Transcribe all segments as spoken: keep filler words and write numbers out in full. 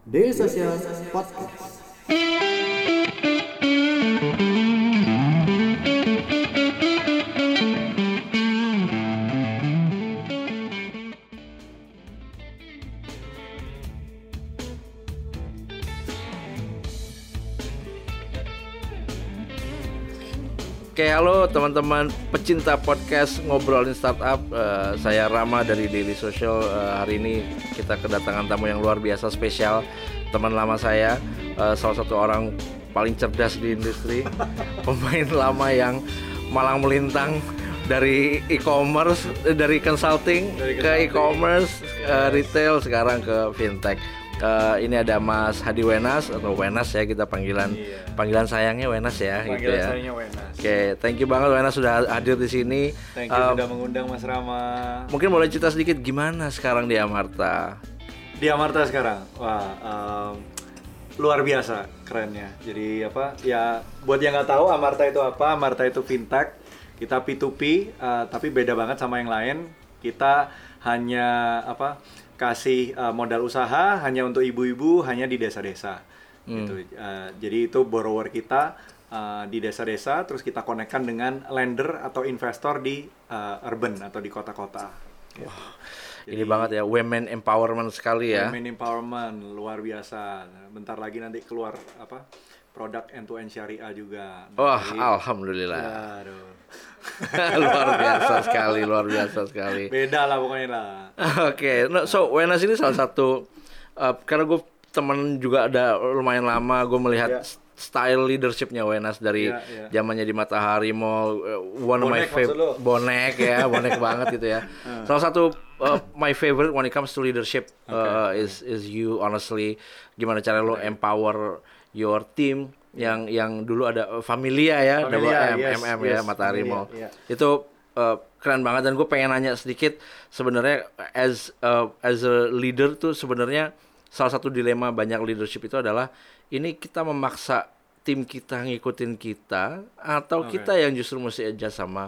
Daily Social Podcast. Oke, halo teman-teman pecinta podcast ngobrolin startup. Uh, saya Rama dari Daily Social. Uh, hari ini kita kedatangan tamu yang luar biasa spesial, teman lama saya, uh, salah satu orang paling cerdas di industri, pemain lama yang malang melintang dari e-commerce, dari consulting, dari consulting ke e-commerce, uh, retail, sekarang ke fintech. Uh, ini ada Mas Hadi Wenas atau Wenas ya, kita panggilan iya. panggilan sayangnya Wenas ya. Panggilan gitu ya. sayangnya Wenas. Oke, okay, thank you banget Wenas sudah hadir di sini. Thank you uh, sudah mengundang Mas Rama. Mungkin boleh cerita sedikit gimana sekarang di Amarta? Di Amarta sekarang, wah um, luar biasa kerennya. Jadi apa? Ya buat yang nggak tahu Amarta itu apa? Amarta itu fintech. Kita P to P, uh, tapi beda banget sama yang lain. Kita hanya apa? kasih uh, modal usaha hanya untuk ibu-ibu, hanya di desa-desa. Hmm. Gitu. Uh, jadi itu borrower kita uh, di desa-desa, terus kita konekkan dengan lender atau investor di uh, urban atau di kota-kota. Gitu. Wow. Jadi, ini banget ya, women empowerment sekali ya. Women empowerment luar biasa. Bentar lagi nanti keluar apa? Produk end-to-end syariah juga. Wah, oh, alhamdulillah. Ya, luar biasa sekali, luar biasa sekali. Beda lah pokoknya lah. Oke, okay. no, so Wenas ini salah satu, uh, karena gue temen juga ada lumayan lama, gue melihat yeah. style leadershipnya Wenas dari yeah, yeah. zamannya di Matahari Mall, uh, one of my favorite, bonek ya, bonek banget gitu ya. Uh. Salah satu uh, my favorite when it comes to leadership uh, okay. is is you honestly, gimana cara lo empower your team yang yeah. yang dulu ada Familia ya, Familia, M, yes, M M yes, ya, Matahari Mall. Yeah. Itu uh, keren banget, dan gue pengen nanya sedikit sebenarnya as uh, as a leader tuh sebenarnya salah satu dilema banyak leadership itu adalah ini kita memaksa tim kita ngikutin kita atau okay. kita yang justru mesti adjust sama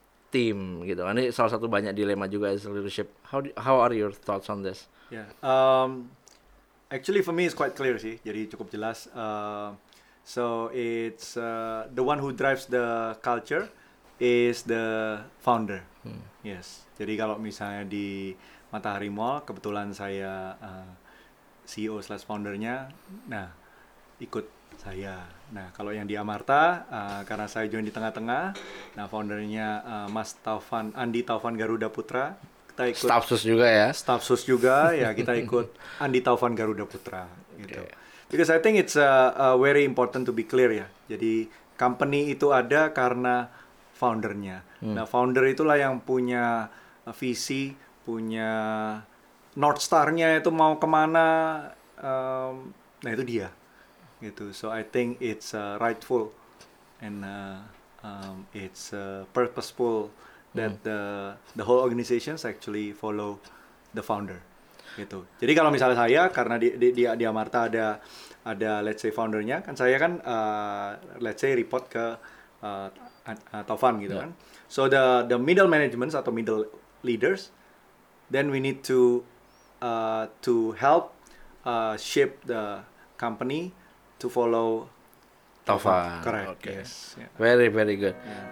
tim gitu. Ini salah satu banyak dilema juga as a leadership. How how are your thoughts on this? Yeah. Um, actually for me it's quite clear sih. Jadi cukup jelas. Uh, So it's uh, the one who drives the culture is the founder. Hmm. Yes. Jadi kalau misalnya di Matahari Mall kebetulan saya uh, C E O slash foundernya, nah ikut saya. Nah kalau yang di Amarta uh, karena saya join di tengah-tengah, nah foundernya uh, Mas Taufan Andi Taufan Garuda Putra. Kita ikut staff sus juga ya. Staff sus juga ya, kita ikut Andi Taufan Garuda Putra gitu. Okay. Because I think it's uh, uh, very important to be clear ya. Jadi company itu ada karena foundernya. Hmm. Nah founder itulah yang punya uh, visi, punya North Star-nya itu mau kemana. Um, nah itu dia. Gitu. So I think it's uh, rightful and uh, um, it's uh, purposeful that hmm. the the whole organizations actually follow the founder. Gitu. Jadi kalau misalnya saya karena di di di, di Amarta ada ada let's say foundernya, kan saya kan uh, let's say report ke uh, uh, Taufan gitu yeah. kan. So the the middle management atau middle leaders, then we need to uh, to help uh, shape the company to follow Taufan. Correct. Okay. Yes. Yeah. Very very good. Yeah.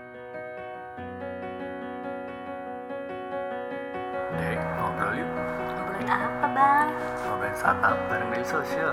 Dek, ngobrol yuk. Ngobrolin apa, Bang? Ngobrolin startup bareng Daily Social.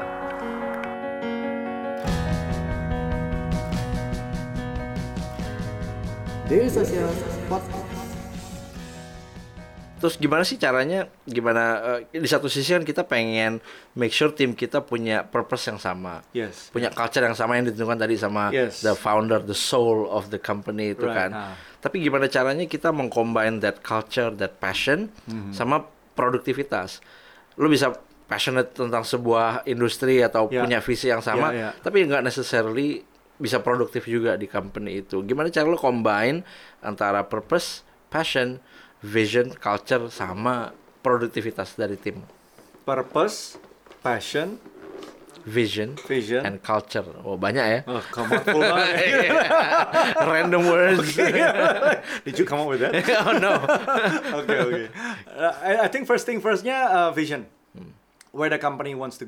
Daily Social Podcast. Terus gimana sih caranya, gimana uh, di satu sisi kan kita pengen make sure tim kita punya purpose yang sama, yes, punya culture yang sama yang ditentukan tadi sama yes. the founder, the soul of the company itu right. kan. Ah. Tapi gimana caranya kita mengcombine that culture, that passion mm-hmm. sama produktivitas. Lo bisa passionate tentang sebuah industri atau yeah. punya visi yang sama, yeah, yeah. tapi nggak necessarily bisa produktif juga di company itu. Gimana cara lo combine antara purpose, passion, vision, culture sama produktivitas dari tim? Purpose, passion, vision, vision, and culture. Oh banyak ya? Oh, come on, full banget. Random words. Did you come up with that? Oh no. Okay, okay. Uh, I, I think first thing firstnya uh, vision. Hmm. Where the company wants to go.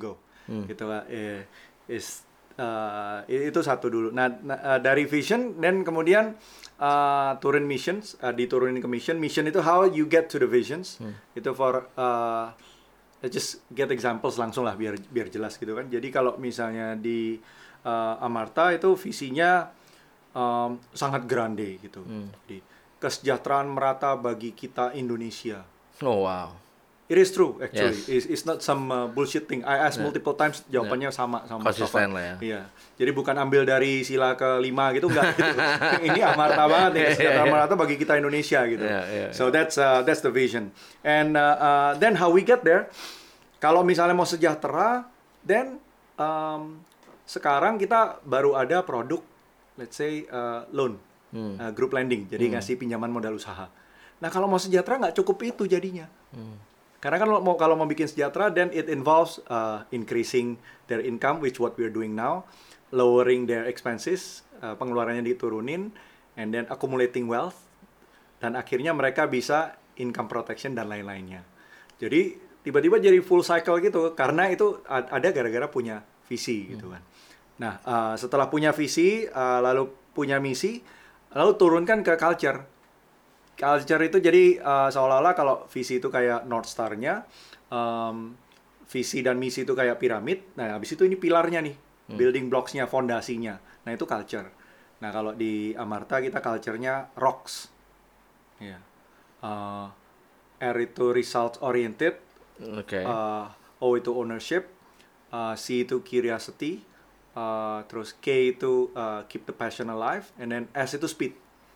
Hmm. gitu lah. Eh, is uh, itu satu dulu. Nah, nah uh, dari vision dan kemudian uh, turun missions, uh, diturunin ke mission. Mission itu how you get to the visions. Hmm. Itu for uh, just get examples langsung lah biar biar jelas gitu kan. Jadi kalau misalnya di uh, Amarta itu visinya um, sangat grande gitu. Hmm. Jadi kesejahteraan merata bagi kita Indonesia. Oh wow. It is true actually. Yes. It's, it's not some uh, bullshit thing. I asked yeah. multiple times, jawabannya yeah. sama sama konsisten lah ya. Iya. Jadi bukan ambil dari sila kelima gitu enggak gitu. Ini Amarta banget nih, kesejahteraan merata bagi kita Indonesia gitu. Yeah, yeah, so yeah. that's uh, that's the vision. And uh, uh, then how we get there? Kalau misalnya mau sejahtera, then um, sekarang kita baru ada produk, let's say uh, loan, hmm. uh, group lending. Jadi hmm. ngasih pinjaman modal usaha. Nah kalau mau sejahtera nggak cukup itu jadinya. Hmm. Karena kan mau kalau mau bikin sejahtera, then it involves uh, increasing their income, which what we're doing now, lowering their expenses, uh, pengeluarannya diturunin, and then accumulating wealth, dan akhirnya mereka bisa income protection dan lain-lainnya. Jadi tiba-tiba jadi full cycle gitu, karena itu ada gara-gara punya visi gitu kan. Nah uh, setelah punya visi, uh, lalu punya misi, lalu turunkan ke culture. Culture itu jadi uh, seolah-olah kalau visi itu kayak North Star-nya, um, visi dan misi itu kayak piramid. Nah, habis itu ini pilarnya nih, hmm. building blocks-nya, fondasinya. Nah, itu culture. Nah, kalau di Amarta kita culture-nya rocks. Yeah. Uh, R itu results oriented, okay. uh, O itu ownership, uh, C itu curiosity, uh, terus K itu uh, keep the passion alive, and then S itu speed.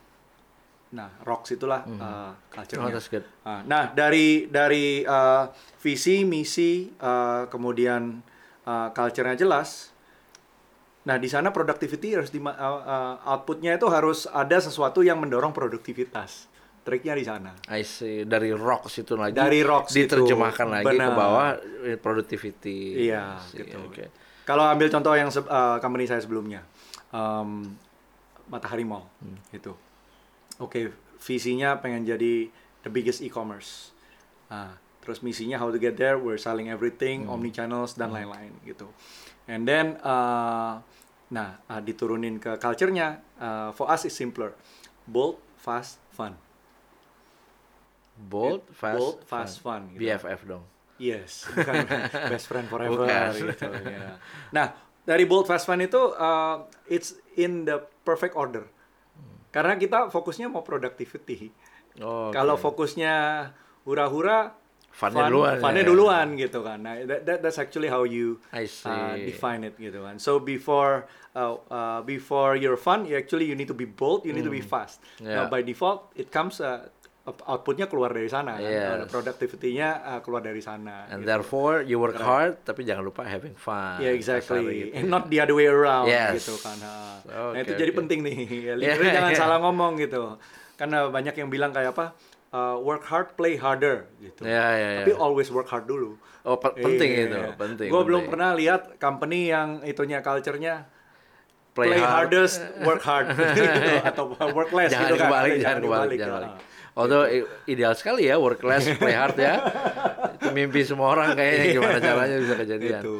Nah, rocks itulah mm. uh, culture-nya. Oh, that's good. Uh, nah, dari dari uh, visi, misi, uh, kemudian uh, culture-nya jelas. Nah, di sana productivity harus di uh, uh, output-nya itu harus ada sesuatu yang mendorong produktivitas. Triknya di sana. I see. Dari rocks itu lagi. Dari rocks diterjemahkan itu. lagi Benar. ke bawah productivity. Iya, see, gitu. Okay. Kalau ambil contoh yang se- uh, company saya sebelumnya, um, Matahari Mall, hmm. gitu. Oke, okay, visinya pengen jadi the biggest e-commerce. Nah, terus misinya how to get there, we're selling everything, hmm. omni channels dan hmm. lain-lain gitu. And then, uh, nah uh, diturunin ke culture-nya. Uh, for us it's simpler, bold, fast, fun. Bold, It, fast, bold, fast, fun. fun gitu. B F F dong. Yes, bukan best friend forever Bukan. gitu. Ya. Nah, dari bold, fast, fun itu uh, it's in the perfect order. Karena kita fokusnya mau productivity. Oh, okay. Kalau fokusnya hura-hura, funnya fun, duluan, funnya ya. duluan gitu kan. Nah, that, that that's actually how you uh, define it gitu kan. So before uh, uh, before you're fun, you actually you need to be bold, you need mm. to be fast. Yeah. Now by default, it comes uh, outputnya keluar dari sana, yes. kan? Productivity-nya uh, keluar dari sana. And gitu. therefore you work right. hard, tapi jangan lupa having fun. Yeah, exactly. Gitu. And not the other way around, yes. gitu kan. Nah, okay, itu okay. jadi penting nih. Leader yeah. jangan salah ngomong gitu. Karena banyak yang bilang kayak apa, uh, work hard, play harder gitu. Yeah, yeah, yeah. Tapi always work hard dulu. Oh, pe- penting yeah. itu, penting. Gue belum penting. pernah lihat company yang itunya culture-nya play, play hard. hardest, work hard gitu, atau work less jangan gitu kan. Kebalik, Jangan jangan kebalik, jangan kebalik. Although gitu. Ideal sekali ya work less, play hard ya. Itu mimpi semua orang kayaknya, gimana caranya bisa kejadian. Itu.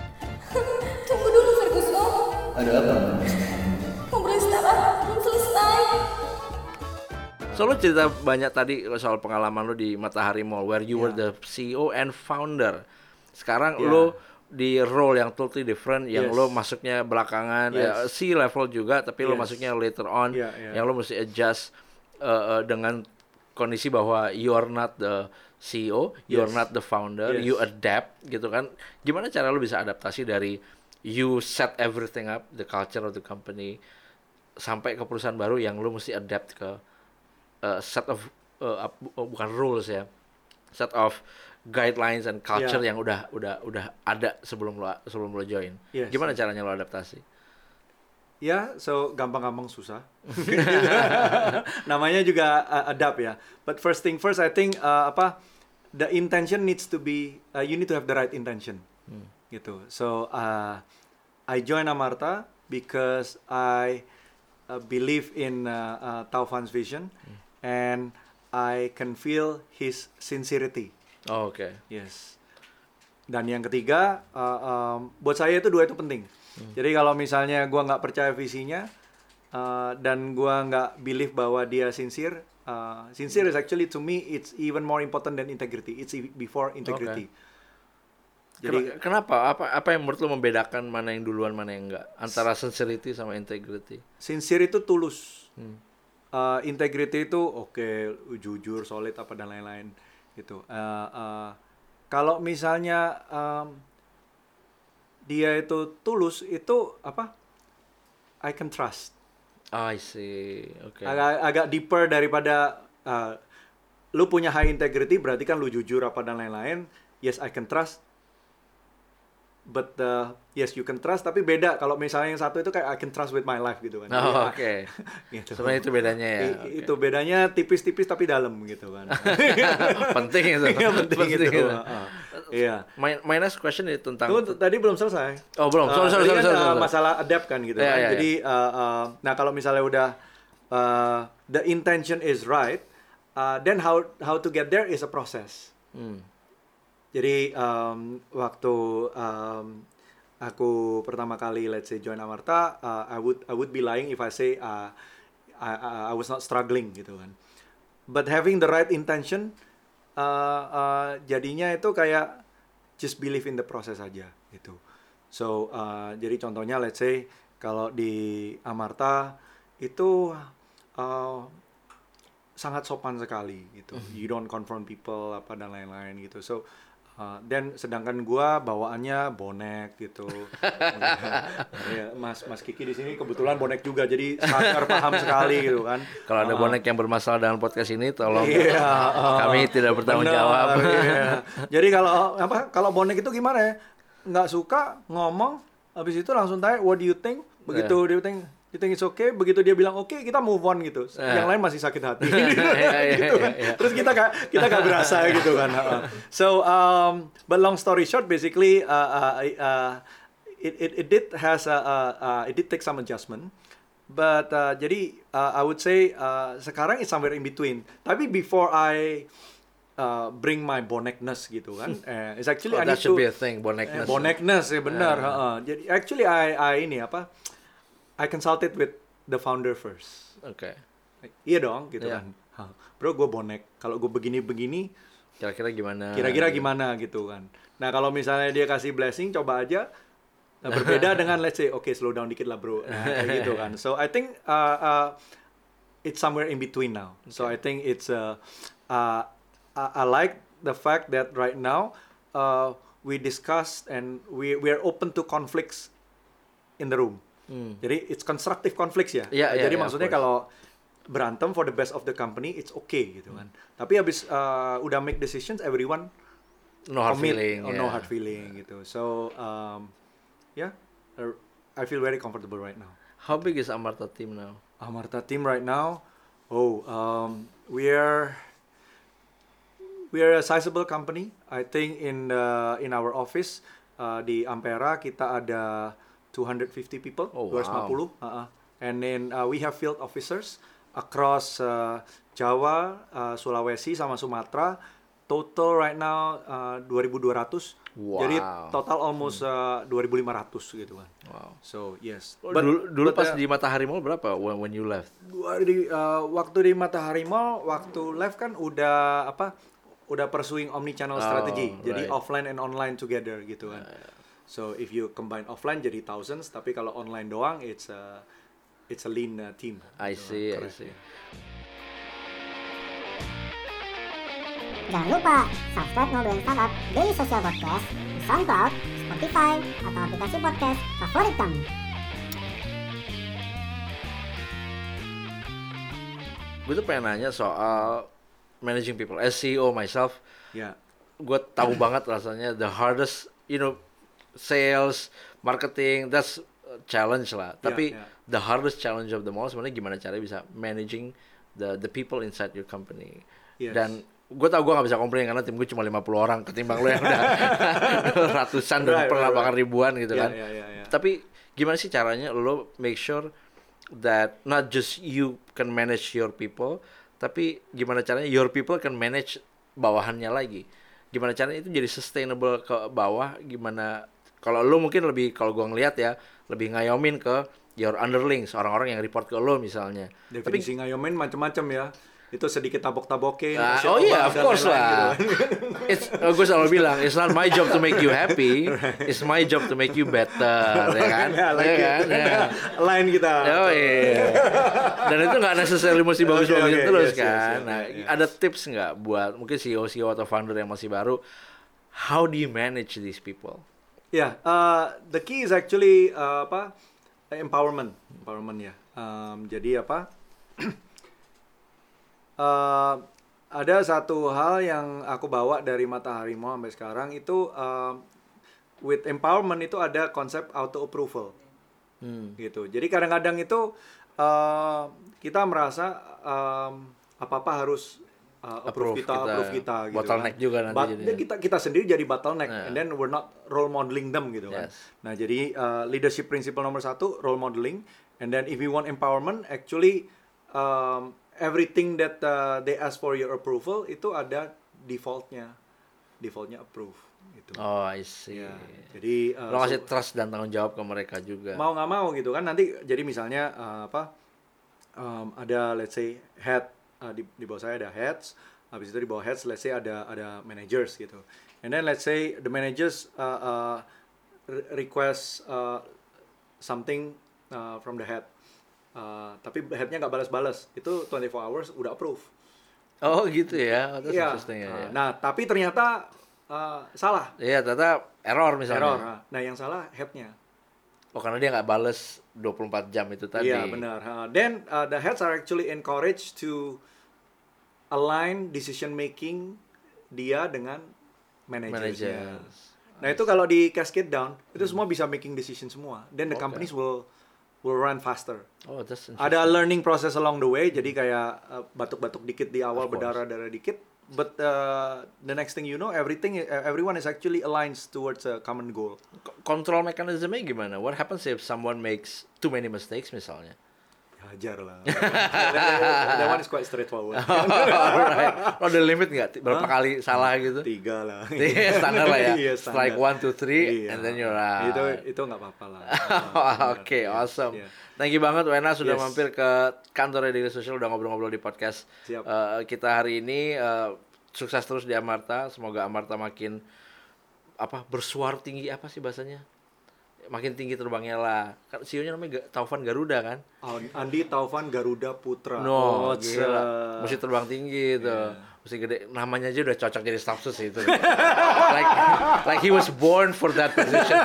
Tunggu dulu Ferguson. Ada apa? Ngobrolin startup belum selesai. So lo cerita banyak tadi soal pengalaman lo di Matahari Mall, where you yeah. were the C E O and founder. Sekarang yeah. lo di role yang totally different, yang yes. lo masuknya belakangan, yes. eh, C level juga, tapi yes. lo masuknya later on, yeah, yeah. yang lo mesti adjust uh, uh, dengan kondisi bahwa you are not the C E O, you yes. are not the founder, yes. you adapt gitu kan. Gimana cara lo bisa adaptasi dari you set everything up, the culture of the company, sampai ke perusahaan baru yang lo mesti adapt ke uh, set of, uh, uh, bukan rules ya, set of guidelines and culture yeah. yang udah udah udah ada sebelum lo sebelum lo join. Yes. Gimana caranya lo adaptasi? Ya, yeah, so gampang-gampang susah. Namanya juga uh, adapt ya. But first thing first, I think uh, apa the intention needs to be, uh, you need to have the right intention, hmm. gitu. So uh, I join Amarta because I uh, believe in uh, uh, Taufan's vision, hmm. and I can feel his sincerity. Oh, okay. Yes. dan yang ketiga, uh, um, buat saya itu dua itu penting. Hmm. Jadi kalau misalnya gua nggak percaya visinya uh, dan gua nggak believe bahwa dia sincere, uh, sincere is actually to me it's even more important than integrity. It's before integrity. Okay. Jadi kenapa? Apa apa yang menurut lo membedakan mana yang duluan mana yang enggak antara sincerity sama integrity? Sincere itu tulus. Hmm. Uh, integrity itu oke, okay, jujur, solid apa dan lain-lain gitu. Uh, uh, Kalau misalnya um, dia itu tulus, itu apa? I can trust. Oh, I see. Oke. Okay. Agak agak deeper daripada uh, lu punya high integrity, berarti kan lu jujur apa dan lain-lain. Yes, I can trust. But uh, yes, you can trust. Tapi beda kalau misalnya yang satu itu kayak I can trust with my life gitu kan. Oh, oke. Okay. Gitu. Sebenarnya itu bedanya ya. I, okay. Itu bedanya tipis-tipis tapi dalam gitu kan. Penting itu. Iya, penting, penting itu. itu. Uh, iya. My, my next question itu tentang. Tuh, tadi belum selesai. Oh belum. Sorry, Uh, sorry, sorry, kan, sorry, uh, sorry. masalah adapt kan gitu Yeah, kan. yeah, Jadi, uh, uh, nah kalau misalnya udah uh, the intention is right, uh, then how how to get there is a process. Hmm. Jadi um, waktu um, aku pertama kali let's say join Amarta, uh, I would I would be lying if I say uh, I, I I was not struggling gitu kan. But having the right intention, uh, uh, jadinya itu kayak just believe in the process aja gitu. So uh, jadi contohnya let's say kalau di Amarta itu uh, sangat sopan sekali gitu. You don't confront people apa dan lain-lain gitu. So Uh, dan sedangkan gua bawaannya bonek gitu. Ya, Mas Mas Kiki di sini kebetulan bonek juga, jadi sangat paham sekali gitu kan. Kalau ada uh, bonek yang bermasalah dengan podcast ini, tolong iya, uh, kami tidak bertanggung bener, jawab. Iya. Jadi kalau apa kalau bonek itu gimana ya? Nggak suka ngomong, habis itu langsung tanya what do you think? Begitu Yeah. dia think you think it's okay, begitu dia bilang oke, okay, kita move on gitu. Yeah. Yang lain masih sakit hati. Yeah, yeah, gitu kan. yeah, yeah. Terus kita gak, kita gak berasa gitu kan. So um, but long story short, basically uh, uh, uh, it, it it did has a, uh, uh, it did take some adjustment. But uh, jadi uh, I would say uh, sekarang it's somewhere in between. Tapi before I uh, bring my bonekness gitu kan, uh, it's actually Oh, I that need should to be a thing, bonekness. Eh, bonekness ya benar. Uh. Uh, jadi actually I I ini apa? I consulted with the founder first. Oke. Okay. Iya dong, gitu Yeah. kan. Huh. Bro, gue bonek. Kalau gue begini-begini, Kira-kira gimana? kira-kira gimana gitu kan. Nah, kalau misalnya dia kasih blessing, coba aja. Nah, berbeda dengan let's say, oke, okay, slow down dikit lah bro. Nah, kayak gitu kan. So, I think uh, uh, it's somewhere in between now. So, I think it's, uh, uh, I, I like the fact that right now, uh, we discussed and we we are open to conflicts in the room. Hmm. Jadi it's constructive conflicts ya. Yeah, yeah, Jadi yeah, maksudnya kalau berantem for the best of the company, it's okay gitu kan. Hmm. Tapi habis uh, udah make decisions, everyone no hard commit feeling. or Yeah. no hard feeling gitu. So um, yeah, uh, I feel very comfortable right now. How big is Amarta team now? Amarta team right now, oh um, we are we are a sizable company. I think in the in our office uh, di Ampera kita ada two hundred fifty people, Oh, dua ratus lima puluh. wow. Uh-uh. And then uh, we have field officers across uh, Jawa, uh, Sulawesi sama Sumatera. Total right now uh, dua ribu dua ratus. Wow. Jadi total almost uh, dua ribu lima ratus gitu kan. Wow. So yes. But, dulu dulu but, pas uh, di Matahari Mall berapa when, when you left? Gua di uh, waktu di Matahari Mall, waktu left kan udah apa? Udah pursuing omni-channel Oh, strategy. Jadi right. offline and online together gitu kan. So if you combine offline jadi thousands, tapi kalau online doang it's a it's a lean uh, team. I Gitu see, kan. I see. Jangan lupa subscribe Ngobrolin Startup Daily Social Podcast di SoundCloud, Spotify, atau aplikasi podcast favorit kamu. Gue tuh pengen nanya soal managing people. As C E O myself, Ya. gue tahu banget rasanya the hardest, you know, sales, marketing, that's a challenge lah. Tapi yeah. the hardest challenge of them all sebenarnya gimana caranya bisa managing the the people inside your company. Yes. Dan gue tau gue gak bisa komplain karena tim gue cuma lima puluh orang ketimbang lo yang udah ratusan dan Right, pernah right, bahkan right. ribuan gitu Yeah, kan. yeah, yeah, yeah. Tapi gimana sih caranya lo make sure that not just you can manage your people, tapi gimana caranya your people can manage bawahannya lagi. gimana caranya itu jadi sustainable ke bawah, gimana kalau lo mungkin lebih, kalau gua ngelihat ya, lebih ngayomin ke your underlings, orang-orang yang report ke lo misalnya. Definisi ngayomin macam-macam ya. Itu sedikit tabok-tabokin. Nah, oh iya, of course lah. Gitu. It's, oh, gue selalu bilang, it's not my job to make you happy, it's my job to make you better, ya kan? Ya, like ya kan? Ya. Line kita. Oh iya. Dan itu nggak necessarily mesti bagus-bagus okay, okay, terus yes, kan. yes, yes, Nah, yes. ada tips nggak buat mungkin C E O C E O atau founder yang masih baru, how do you manage these people? Ya, yeah, uh, the key is actually uh, apa? Empowerment, empowerment ya. Um, jadi apa? Uh, ada satu hal yang aku bawa dari Mata Harimau sampai sekarang itu uh, with empowerment itu ada konsep auto approval, hmm. gitu. Jadi kadang-kadang itu uh, kita merasa um, apa-apa harus uh, approve, approve kita, kita, approve kita, gitu. Bottleneck kan. juga nanti. But, jadinya. kita kita sendiri jadi bottleneck, yeah. And then we're not role modeling them gitu kan. Yes. Nah jadi uh, leadership principle nomor satu role modeling, and then if you want empowerment, actually um, everything that uh, they ask for your approval itu ada defaultnya, defaultnya approve gitu. Oh, I see. Ya, jadi uh, lo kasih so, trust dan tanggung jawab ke mereka juga. Mau nggak mau gitu kan nanti. Jadi misalnya uh, apa? Um, ada let's say head uh, di, di bawah saya ada heads, habis itu di bawah heads let's say ada ada managers gitu. And then let's say the managers uh, uh, request uh, something uh, from the head. Uh, tapi headnya nggak balas-balas, itu twenty-four hours udah approve. Oh gitu ya, oh, Iya. ya. Nah tapi ternyata uh, salah. Iya, ternyata error misalnya. Error. Nah yang salah headnya. Oh karena dia nggak bales dua puluh empat jam itu tadi. Iya benar. Uh, then uh, the heads are actually encouraged to align decision making dia dengan manajersnya. Managers. Nah itu kalau di cascade down itu semua bisa making decision semua. Then the Okay. companies will will run faster. Oh, that's interesting. Ada learning process along the way, jadi kayak uh, batuk-batuk dikit di awal, Of course. berdarah-darah dikit, but uh, the next thing you know, everything, uh, everyone is actually aligned towards a common goal. K- Kontrol mekanismenya gimana? What happens if someone makes too many mistakes misalnya? Hajar lah. that, that one is quite straightforward. Alright. Lo ada limit nggak? Berapa Huh? kali salah gitu? Tiga lah. Iya, standar lah ya. Iya, Strike standar. one, two, three, Iya. and then you're out. Itu itu nggak apa-apa lah. Oke, Iya, awesome. iya. Thank you banget Wena sudah Yes. mampir ke kantor Daily Social, udah ngobrol-ngobrol di podcast Siap. uh, kita hari ini. Uh, sukses terus di Amarta, semoga Amarta makin apa bersuara tinggi, apa sih bahasanya? Makin tinggi terbangnya lah. Kan C E O-nya namanya Ga- Taufan Garuda kan? Andi Taufan Garuda Putra. No, Oh, gila. uh, Mesti terbang tinggi itu. Yeah. Mesti gede. Namanya aja udah cocok jadi staff sus itu. like like he was born for that position.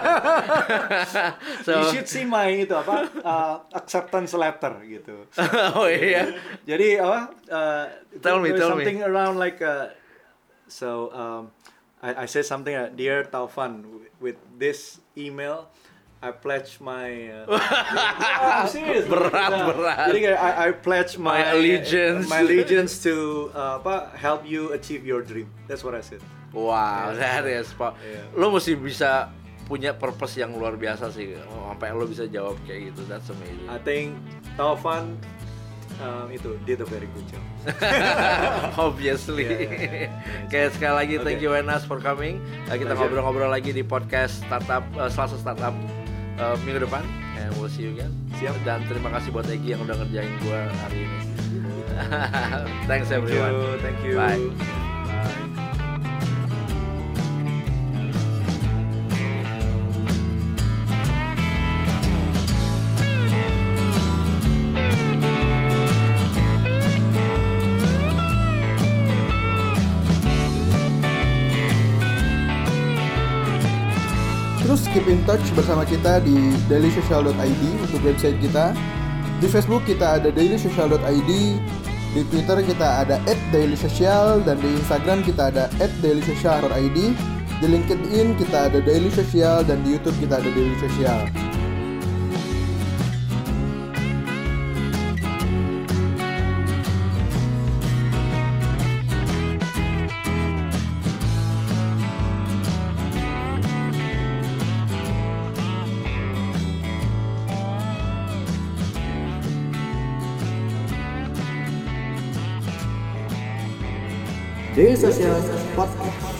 So, you should see my itu apa uh, acceptance letter gitu. oh iya. Jadi apa? Uh, Tell me, there's tell me. something around like uh, so um, I I say something uh, dear Taufan, w- with this email I pledge my uh, I'm serious. Berat, Nah, berat. Jadi kayak I, I pledge my, My allegiance. my allegiance to uh, apa help you achieve your dream. That's what I said. Wow, that is Pak. Yeah. Lo mesti bisa punya purpose yang luar biasa sih. Oh, sampai lo bisa jawab kayak gitu. That's amazing. I think Taufan um, itu did a very good job. Obviously. Yeah, yeah, yeah. Oke, sekali lagi thank Okay. you Wenas for coming. Uh, kita Pleasure. ngobrol-ngobrol lagi di podcast startup uh, Selasa Startup uh, minggu depan. And we'll see you again. Siap. Dan terima kasih buat Egi yang udah ngerjain gua hari ini. Thanks Thank you, everyone. thank you. Bye. Bye. Terus keep in touch bersama kita di dailysocial dot i d untuk website kita. Di Facebook kita ada dailysocial dot i d, di Twitter kita ada at dailysocial, dan di Instagram kita ada at dailysocial dot i d. Di LinkedIn kita ada Daily Social, dan di YouTube kita ada Daily Social. Daily Social Podcast.